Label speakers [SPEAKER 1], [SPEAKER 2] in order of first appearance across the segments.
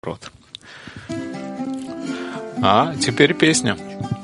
[SPEAKER 1] Рот. А теперь песня.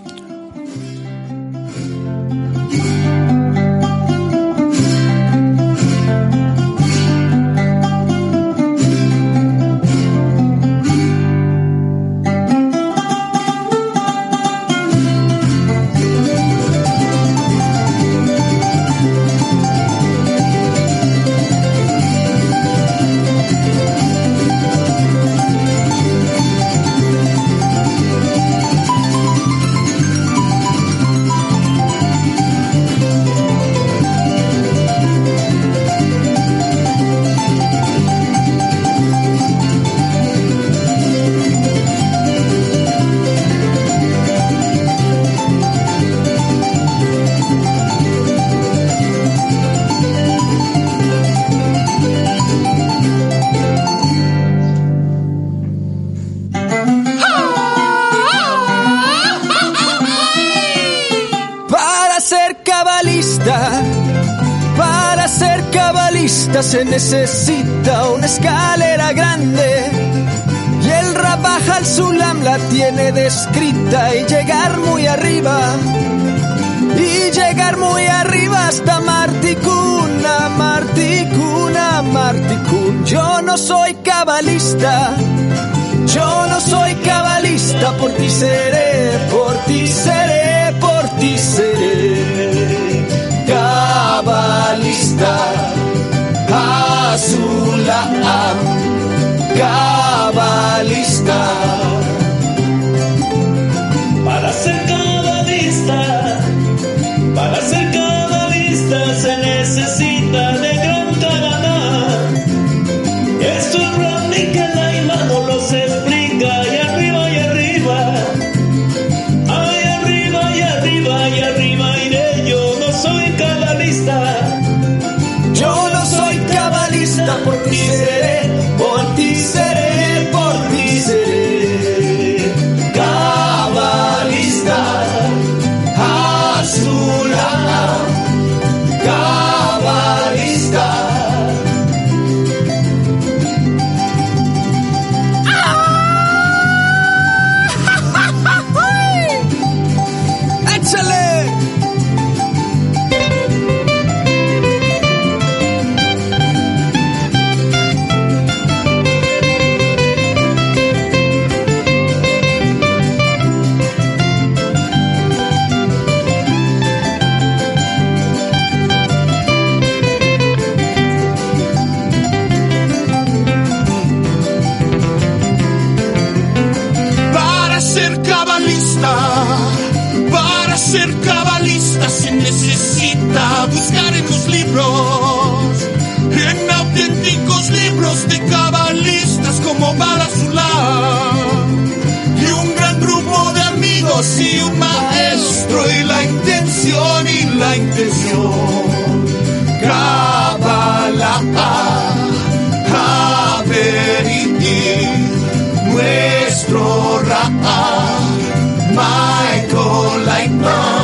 [SPEAKER 2] Se necesita una escalera grande y el Rabaj al-Sulam la tiene descrita y llegar muy arriba hasta Martikun, Martikun. Yo no soy cabalista, por ti seré cabalista. Sulam, cabalista.
[SPEAKER 3] Para ser cabalista se necesita de gran Kavaná. Esto es Rabbi Kelaima no los explica. Y arriba, iré. Yo no soy cabalista.
[SPEAKER 2] Por ti seré cabalista. Sulam, cabalista. ¡Échale!
[SPEAKER 4] Para ser cabalista se necesita buscar en los libros, en auténticos libros de cabalistas como Baal HaSulam, y un gran grupo de amigos y un maestro y la intención, Kabbalah, Haveriti, nuestro Ra'a. Michael Lightman.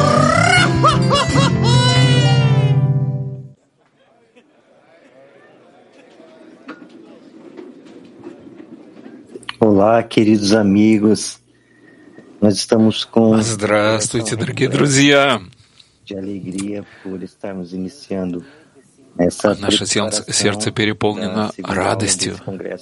[SPEAKER 5] Olá, queridos amigos. Nós estamos com
[SPEAKER 1] Здравствуйте, дорогие друзья.
[SPEAKER 5] de alegria por estarmos iniciando essa
[SPEAKER 1] Наше сердце переполнено радостью,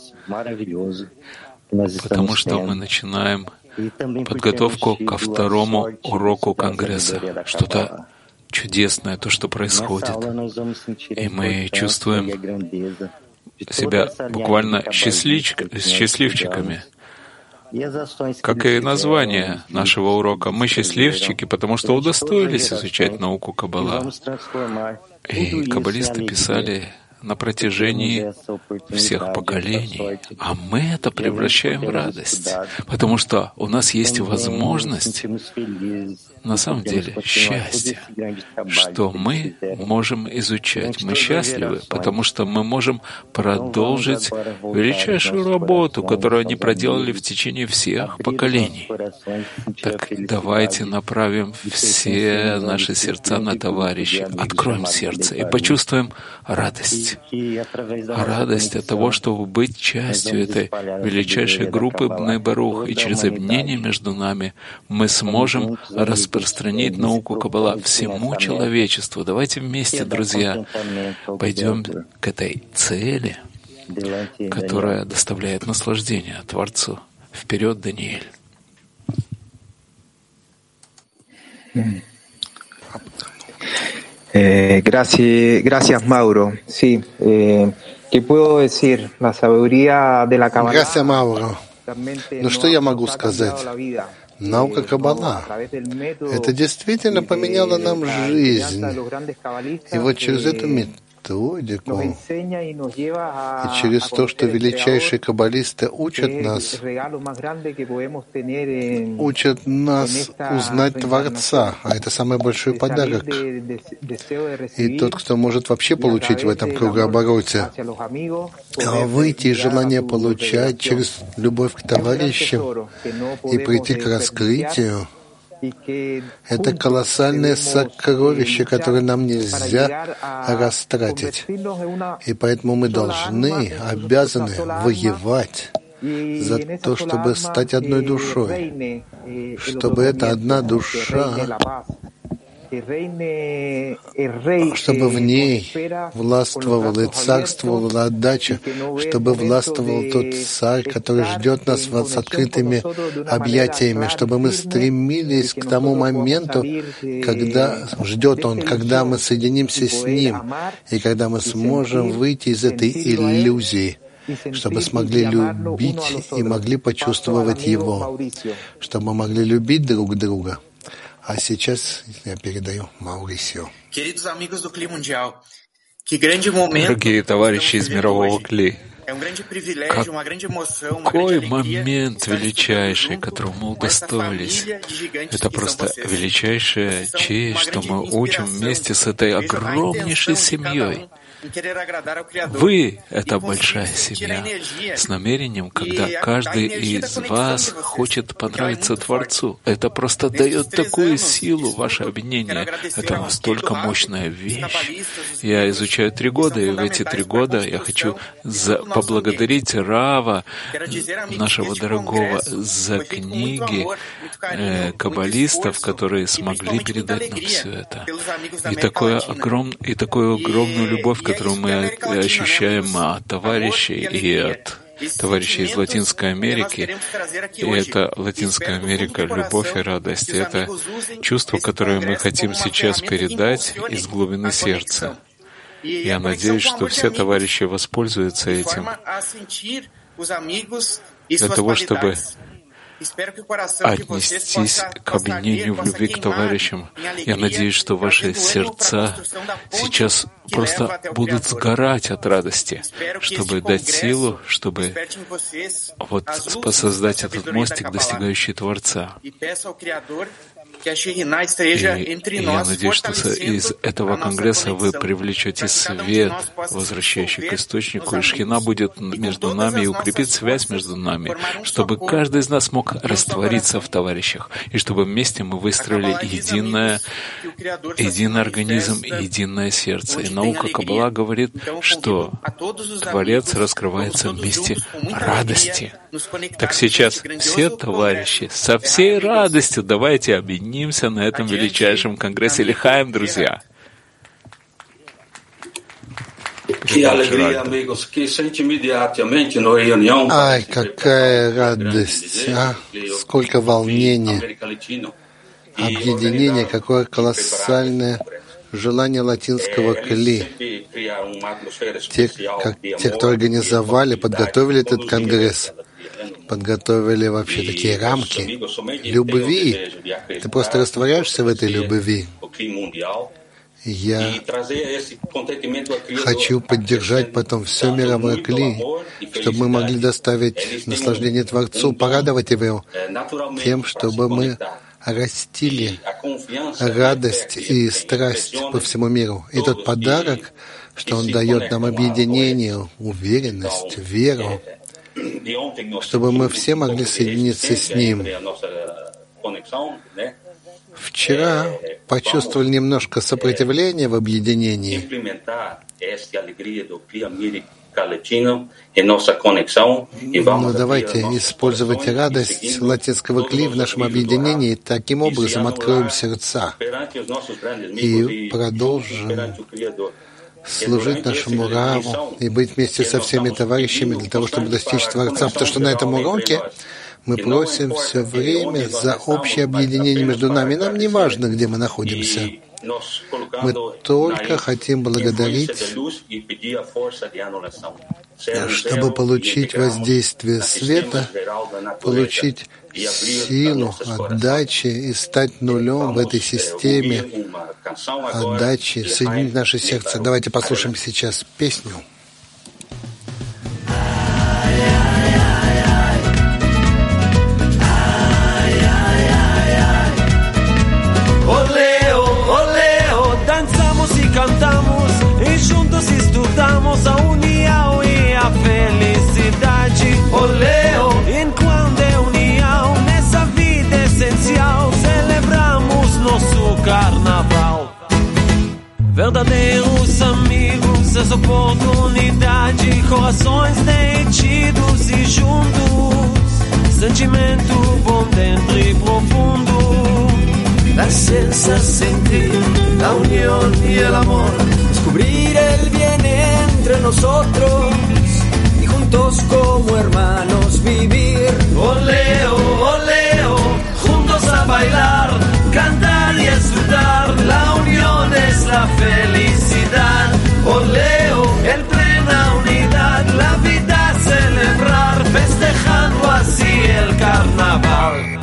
[SPEAKER 1] потому что мы начинаем подготовку ко второму уроку Конгресса. Что-то чудесное, то, что происходит. И мы чувствуем себя буквально счастливчиками. Как и название нашего урока. Мы счастливчики, потому что удостоились изучать науку Каббала. И каббалисты писали на протяжении всех поколений, а мы это превращаем в радость, потому что у нас есть возможность, на самом деле, счастье, что мы можем изучать. Мы счастливы, потому что мы можем продолжить величайшую работу, которую они проделали в течение всех поколений. Так давайте направим все наши сердца на товарища, откроем сердце и почувствуем радость. радость. Радость от того, чтобы быть частью этой величайшей группы Бней Барух, и через объединение между нами мы сможем распространить науку Каббала всему человечеству. Давайте вместе, друзья, пойдем к этой цели, которая доставляет наслаждение Творцу. Вперед, Даниэль.
[SPEAKER 6] Gracias, Mauro. Sí, ¿qué puedo decir? La sabiduría de la Kabbalah.
[SPEAKER 7] Gracias, Mauro. Ну что я могу сказать? Наука Каббала — это действительно поменяло нам жизнь. И вот через эту методику и через то, что величайшие каббалисты учат нас узнать Творца, а это самый большой подарок. И тот, кто может вообще получить в этом кругообороте, выйти из желания получать через любовь к товарищам и прийти к раскрытию, это колоссальное сокровище, которое нам нельзя растратить. И поэтому мы должны, обязаны воевать за то, чтобы стать одной душой, чтобы эта одна душа, чтобы в ней властвовала и царствовала отдача, чтобы властвовал тот царь, который ждет нас с открытыми объятиями, чтобы мы стремились к тому моменту, когда ждет он, когда мы соединимся с ним, и когда мы сможем выйти из этой иллюзии, чтобы смогли любить и могли почувствовать его, чтобы мы могли любить друг друга. А сейчас я передаю Маурисио.
[SPEAKER 1] Дорогие товарищи из мирового Кли, какой момент величайший, которого мы удостоились. Это просто величайшая честь, что мы учим вместе с этой огромнейшей семьей. Вы — это большая семья, с намерением, когда каждый из вас хочет понравиться Творцу. Это просто дает такую силу, ваше объединение. Это настолько мощная вещь. Я изучаю 3 года, и в эти 3 года я хочу поблагодарить Рава, нашего дорогого, за книги каббалистов, которые смогли передать нам все это. И такую огромную любовь, которую мы ощущаем от товарищей и от товарищей из Латинской Америки. И это Латинская Америка, любовь и радость. И это чувство, которое мы хотим сейчас передать из глубины сердца. Я надеюсь, что все товарищи воспользуются этим для того, чтобы отнестись к объединению в любви к товарищам. Я надеюсь, что ваши сердца сейчас просто будут сгорать от радости, чтобы дать силу, чтобы создать этот мостик, достигающий Творца. И я надеюсь, что из этого конгресса вы привлечете свет, возвращающий к источнику, и Шхина будет между нами и укрепит связь между нами, чтобы каждый из нас мог раствориться в товарищах, и чтобы вместе мы выстроили единый организм и единое сердце. И наука Каббала говорит, что Творец раскрывается вместе радости. Так сейчас все товарищи со всей радостью давайте объединимся на этом величайшем конгрессе Лихаим, друзья.
[SPEAKER 7] Ай, какая радость, а? Сколько волнения, объединение, какое колоссальное желание латинского Кли. Те, кто организовали, подготовили этот конгресс, подготовили вообще такие рамки любви. Ты просто растворяешься в этой любви. Я хочу поддержать потом все мировое Кли, чтобы мы могли доставить наслаждение Творцу, порадовать Его тем, чтобы мы растили радость и страсть по всему миру. И тот подарок, что Он дает нам объединение, уверенность, веру, чтобы мы все могли соединиться с Ним. Вчера почувствовали немножко сопротивления в объединении, Но давайте использовать радость латинского кли в нашем объединении и таким образом откроем сердца и продолжим служить нашему Раву и быть вместе со всеми товарищами для того, чтобы достичь Творца. Потому что на этом уроке мы просим все время за общее объединение между нами. Нам не важно, где мы находимся. Мы только хотим благодарить, чтобы получить воздействие света, получить силу отдачи и стать нулем в этой системе отдачи, соединить наше сердце. Давайте послушаем сейчас песню.
[SPEAKER 2] Cantamos e juntos estudamos a união e a felicidade. Oleo, enquanto é união nessa vida essencial, celebramos nosso carnaval. Verdadeiros amigos, essa oportunidade, corações derretidos e juntos, sentimento bom dentro e profundo. La esencia sentir la unión y el amor, descubrir el bien entre nosotros y juntos como hermanos vivir. Oleo, oleo, juntos a bailar, cantar y disfrutar. La unión es la felicidad. Oleo, en plena unidad, la vida celebrar, festejando así el carnaval.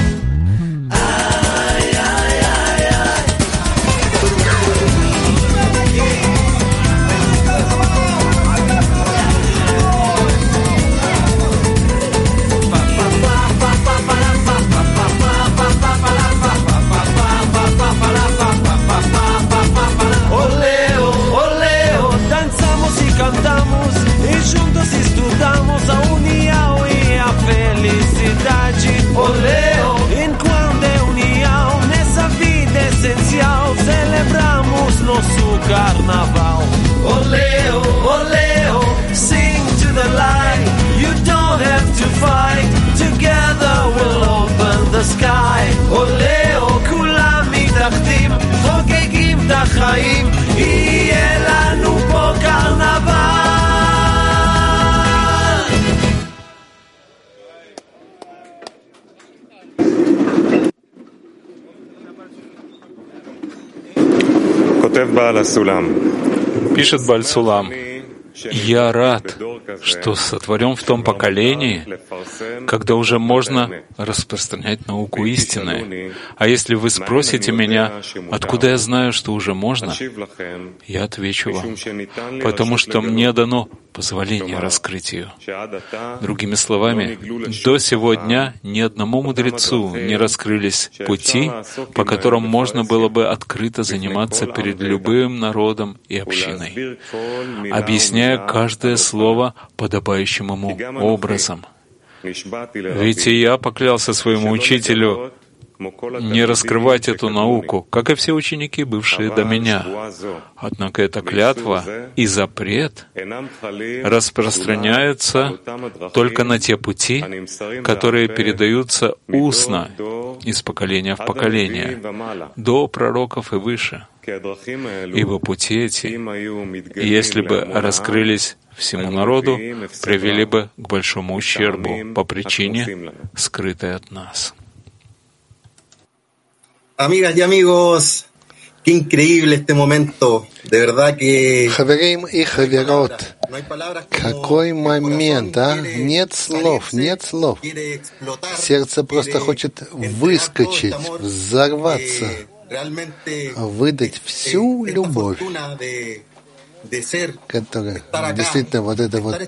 [SPEAKER 2] Cantamos e juntos estudamos a união e a felicidade. Oleo, enquanto é união nessa vida essencial, celebramos nosso carnaval. Oleo, oleo, sing to the light. You don't have to fight. Together we'll open the sky. Oleo, כולם מתאחדים, חוגגים את החיים. יהיה לנו פה קרנבל.
[SPEAKER 1] Пишет Бааль Сулам: «Я рад, что сотворен в том поколении, когда уже можно распространять науку истины. А если вы спросите меня, откуда я знаю, что уже можно, я отвечу вам, потому что мне дано позволение раскрыть ее». Другими словами, до сего дня ни одному мудрецу не раскрылись пути, по которым можно было бы открыто заниматься перед любым народом и общиной, объясняя каждое слово подобающим ему образом. Ведь и я поклялся своему учителю не раскрывать эту науку, как и все ученики, бывшие до меня. Однако эта клятва и запрет распространяются только на те пути, которые передаются устно из поколения в поколение, до пророков и выше. Ибо пути эти, если бы раскрылись всему народу, привели бы к большому ущербу по причине, скрытой от нас.
[SPEAKER 8] Amigas y amigos, qué increíble este momento. De verdad que...
[SPEAKER 7] Хаверим и хаверот, какой момент, а? Нет слов, нет слов. Сердце просто хочет выскочить, взорваться, выдать всю любовь, которая действительно вот эта вот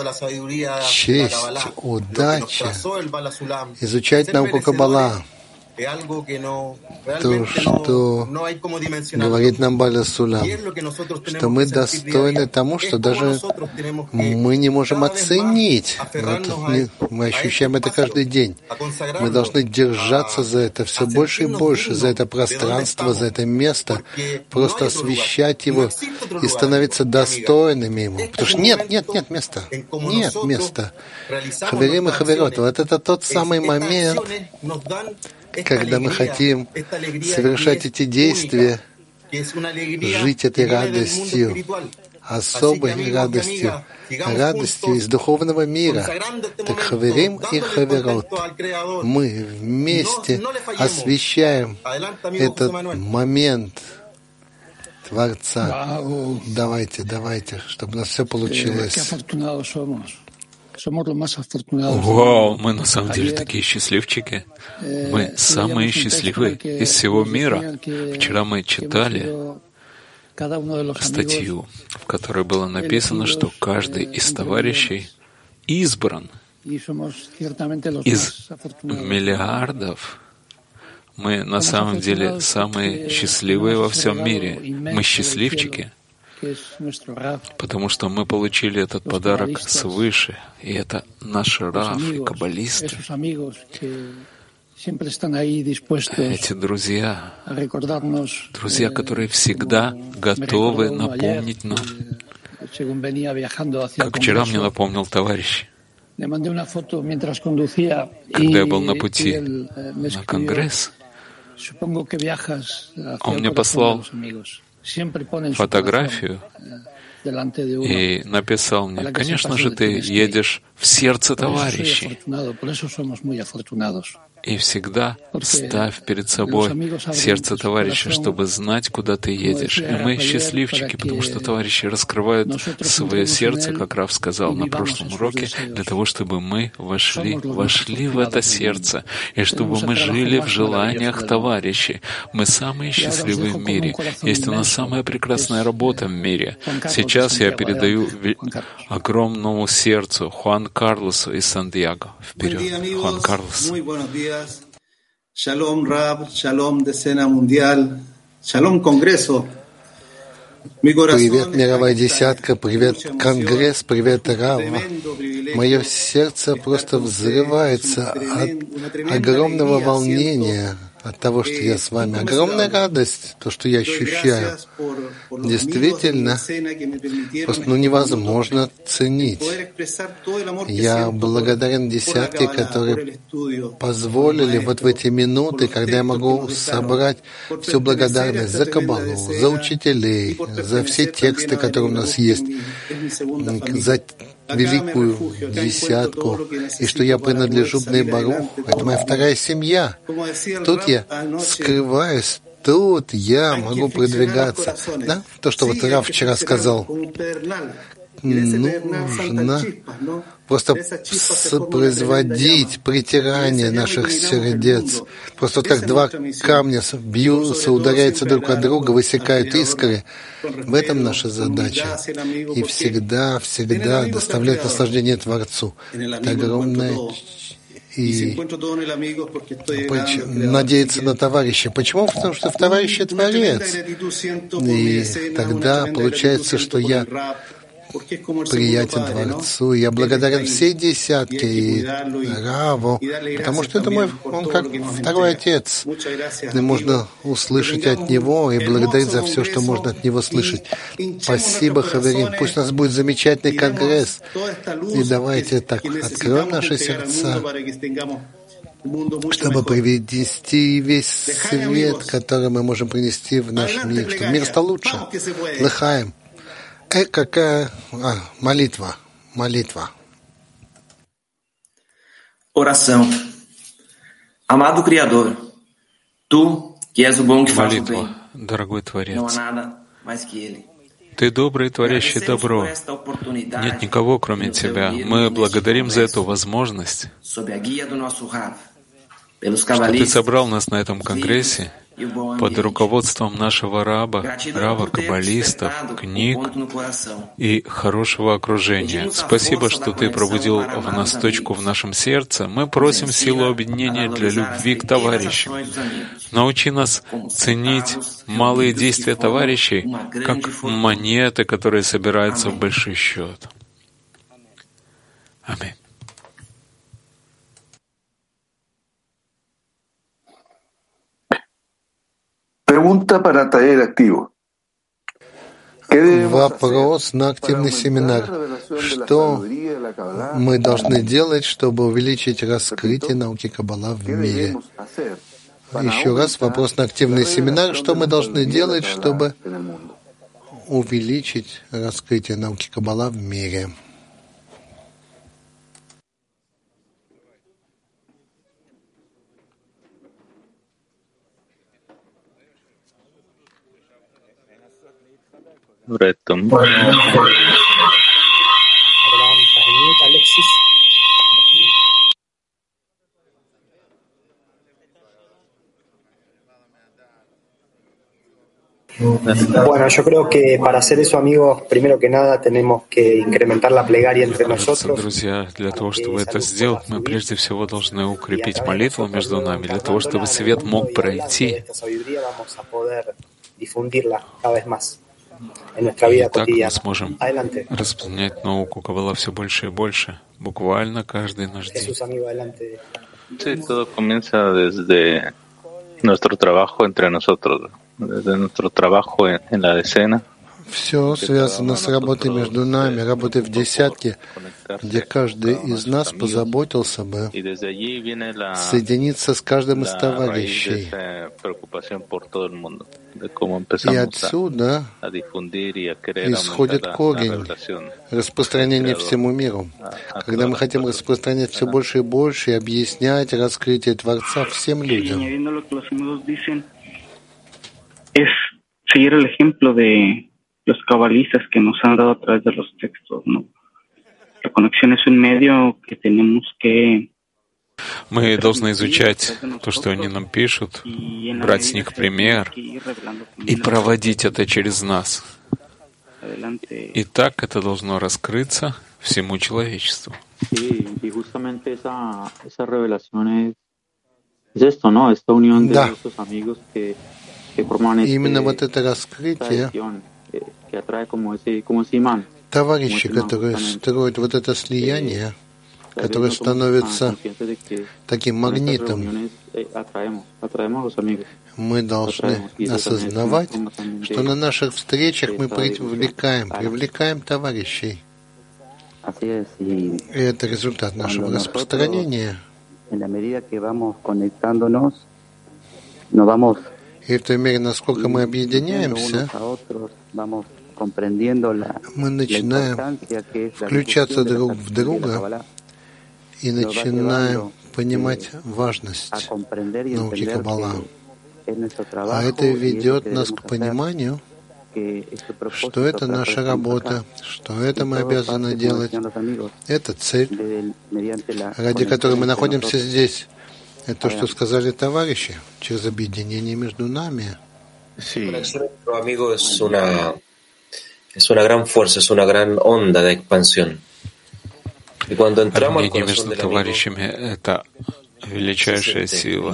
[SPEAKER 7] честь, удача, изучать науку Каббала, то, что говорит нам Баля Сулам, что мы достойны тому, что даже мы не можем оценить. Мы ощущаем это каждый день. Мы должны держаться за это все больше и больше, за это пространство, за это место, просто освещать его и становиться достойными ему. Потому что нет места. Нет места. Хаверим и хаверот. Вот это тот самый момент, когда мы хотим совершать эти действия, жить этой радостью, особой радостью, радостью из духовного мира. Так хаверим и хаверот. Мы вместе освещаем этот момент Творца. Давайте, чтобы у нас все получилось.
[SPEAKER 1] Вау, мы на самом деле такие счастливчики. Мы самые счастливые из всего мира. Вчера мы читали статью, в которой было написано, что каждый из товарищей избран. Из миллиардов мы на самом деле самые счастливые во всем мире. Мы счастливчики, потому что мы получили этот подарок свыше, и это наши рав и каббалисты. Эти друзья, которые всегда готовы напомнить нам, как вчера мне напомнил товарищ, когда я был на пути на конгресс, он мне послал фотографию и написал мне: «Конечно же, ты едешь в сердце товарищей». И всегда ставь перед собой сердце товарища, чтобы знать, куда ты едешь. И мы счастливчики, потому что товарищи раскрывают свое сердце, как Рав сказал на прошлом уроке, для того, чтобы мы вошли в это сердце, и чтобы мы жили в желаниях товарищей. Мы самые счастливые в мире. Есть у нас самая прекрасная работа в мире. Сейчас я передаю огромному сердцу Хуан Карлосу из Сан-Диего. Вперед, Хуан Карлос.
[SPEAKER 9] Shalom Rab, Shalom Decena Mundial, Shalom Конгрессу.
[SPEAKER 7] Привет, мировая десятка, привет, Конгресс, привет, Рав. Мое сердце просто взрывается от огромного волнения, от того, что я с вами. Огромная радость, то, что я ощущаю. Действительно, просто невозможно ценить. Я благодарен десятке, которые позволили вот в эти минуты, когда я могу собрать всю благодарность за Каббалу, за учителей, за все тексты, которые у нас есть, за великую десятку, и что я принадлежу Бней Барух. Это моя вторая семья. Тут я скрываюсь, тут я могу продвигаться. Да? То, что вот Рав вчера сказал. Нужно просто производить притирание наших сердец. Просто вот как два камня бьются, ударяются друг от друга, высекают искры. В этом наша задача. И всегда доставлять наслаждение Творцу. Это огромное. И надеяться на товарища. Почему? Потому что в товарище Творец. И тогда получается, что я приятен Творцу. Я благодарен всей десятке и Раву, потому что это он как второй отец. И можно услышать от него и благодарить за все, что можно от него слышать. Спасибо, Хаверим. Пусть у нас будет замечательный конгресс. И давайте так откроем наши сердца, чтобы привести весь свет, который мы можем принести в наш мир, чтобы мир стал лучше. Лыхаем. Какая молитва.
[SPEAKER 10] Oração. Amado Criador, Tu, que és o bom que faz o bem,
[SPEAKER 1] дорогой Творец,
[SPEAKER 10] não há nada mais que Ele.
[SPEAKER 1] Ты добрый, творящий добро. Нет никого, кроме Тебя. Мы благодарим за эту возможность, что Ты собрал нас на этом конгрессе под руководством нашего рава, каббалистов, книг и хорошего окружения. Спасибо, что Ты пробудил в нас точку в нашем сердце. Мы просим силу объединения для любви к товарищам. Научи нас ценить малые действия товарищей, как монеты, которые собираются в большой счет. Аминь.
[SPEAKER 7] Вопрос на активный семинар. Что мы должны делать, чтобы увеличить раскрытие науки Каббала в мире? Еще раз вопрос на активный семинар. Что мы должны делать, чтобы увеличить раскрытие науки Каббала в мире?
[SPEAKER 11] Bueno, yo creo que para hacer eso, amigos, primero que nada tenemos que incrementar la plegaria entre nosotros.
[SPEAKER 1] Друзья, для того, чтобы это сделать, мы прежде всего должны укрепить молитву между нами, для того, чтобы свет мог пройти. И так мы сможем распространять науку Каббала все больше и больше, буквально каждый наш день.
[SPEAKER 12] Sí, todo comienza desde nuestro trabajo entre nosotros, desde nuestro trabajo en la decena.
[SPEAKER 7] Все связано с работой между нами, работой в десятке, где каждый из нас позаботился бы соединиться с каждым из товарищей. И отсюда исходит корень распространения всему миру. Когда мы хотим распространять все больше и больше и объяснять раскрытие Творца всем людям.
[SPEAKER 13] Los cabalistas que nos han dado a través de los textos, ¿no? La conexión es un medio que tenemos que...
[SPEAKER 1] Мы должны изучать то, что они нам пишут, брать с них пример и проводить это через нас. И так это должно раскрыться всему человечеству.
[SPEAKER 7] Да. Именно вот это раскрытие, товарищи, которые строят вот это слияние, которое становится таким магнитом, мы должны осознавать, что на наших встречах мы привлекаем товарищей. И это результат нашего распространения. И в той мере, насколько мы объединяемся, мы начинаем включаться друг в друга и начинаем понимать важность науки Каббала. А это ведет нас к пониманию, что это наша работа, что это мы обязаны делать. Это цель, ради которой мы находимся здесь. Это то, что сказали товарищи, через объединение между нами.
[SPEAKER 14] Nuestro amigo es una gran fuerza, es una gran onda de expansión. Y cuando entramos al corazón del amigo,
[SPEAKER 1] это величайшая сила.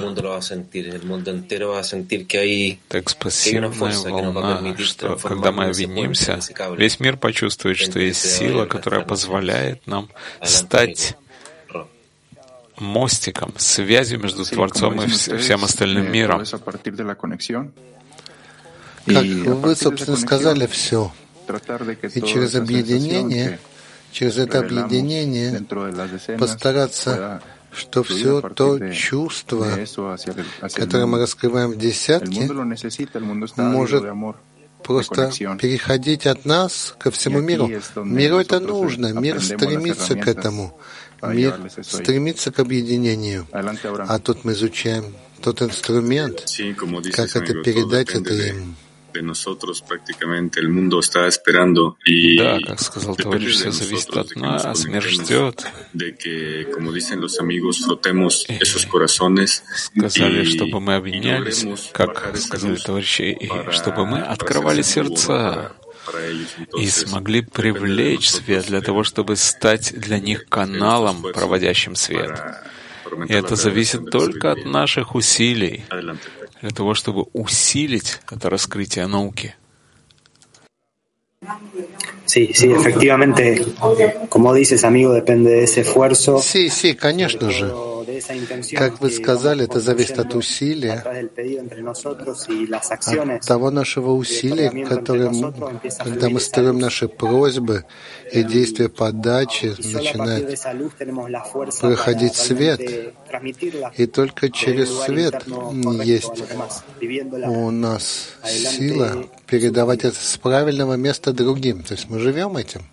[SPEAKER 1] Это экспансивная волна, что когда мы объединимся, весь мир почувствует, что есть сила, которая позволяет нам стать мостиком, связью между Творцом и всем остальным миром.
[SPEAKER 7] Как вы, собственно, сказали все. И через это объединение постараться, что все то чувство, которое мы раскрываем в десятке, может просто переходить от нас ко всему миру. Миру это нужно, мир стремится к этому. Мир стремится к объединению. А тут мы изучаем тот инструмент, как это передать это им.
[SPEAKER 1] Да, как сказал товарищ, все зависит от нас, мир ждет. И сказали, чтобы мы объединялись, как сказали товарищи, и чтобы мы открывали сердца и смогли привлечь свет для того, чтобы стать для них каналом, проводящим свет. И это зависит только от наших усилий, для того, чтобы усилить это раскрытие науки.
[SPEAKER 11] Sí, efectivamente, como dices, amigo, depende de ese esfuerzo.
[SPEAKER 7] Sí, конечно же. Как вы сказали, это зависит от усилия, от того нашего усилия, когда мы строим наши просьбы и действия подачи, начинает проходить свет. И только через свет есть у нас сила передавать это с правильного места другим. То есть мы живем этим.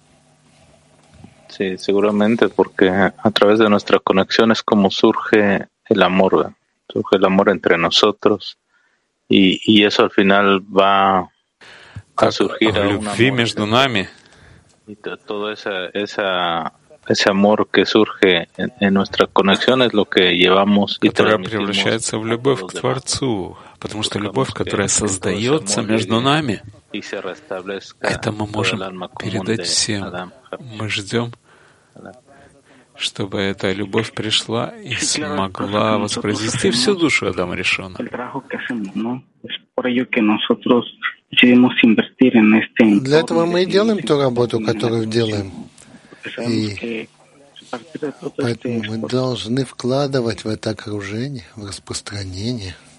[SPEAKER 12] Sí, seguramente, porque a través de nuestra conexión es como surge el amor entre nosotros, y eso al final va a surgir a un amor
[SPEAKER 1] между нами.
[SPEAKER 12] Y todo ese amor que surge en nuestra conexión es lo que llevamos y
[SPEAKER 1] которая превращается в любовь к Творцу, потому что любовь, которая создается между нами, это мы можем передать всем. Мы ждем, чтобы эта любовь пришла и смогла воспроизвести всю душу Адама Ришона.
[SPEAKER 7] Для этого мы и делаем ту работу, которую делаем. И поэтому мы должны вкладывать в это окружение, в распространение.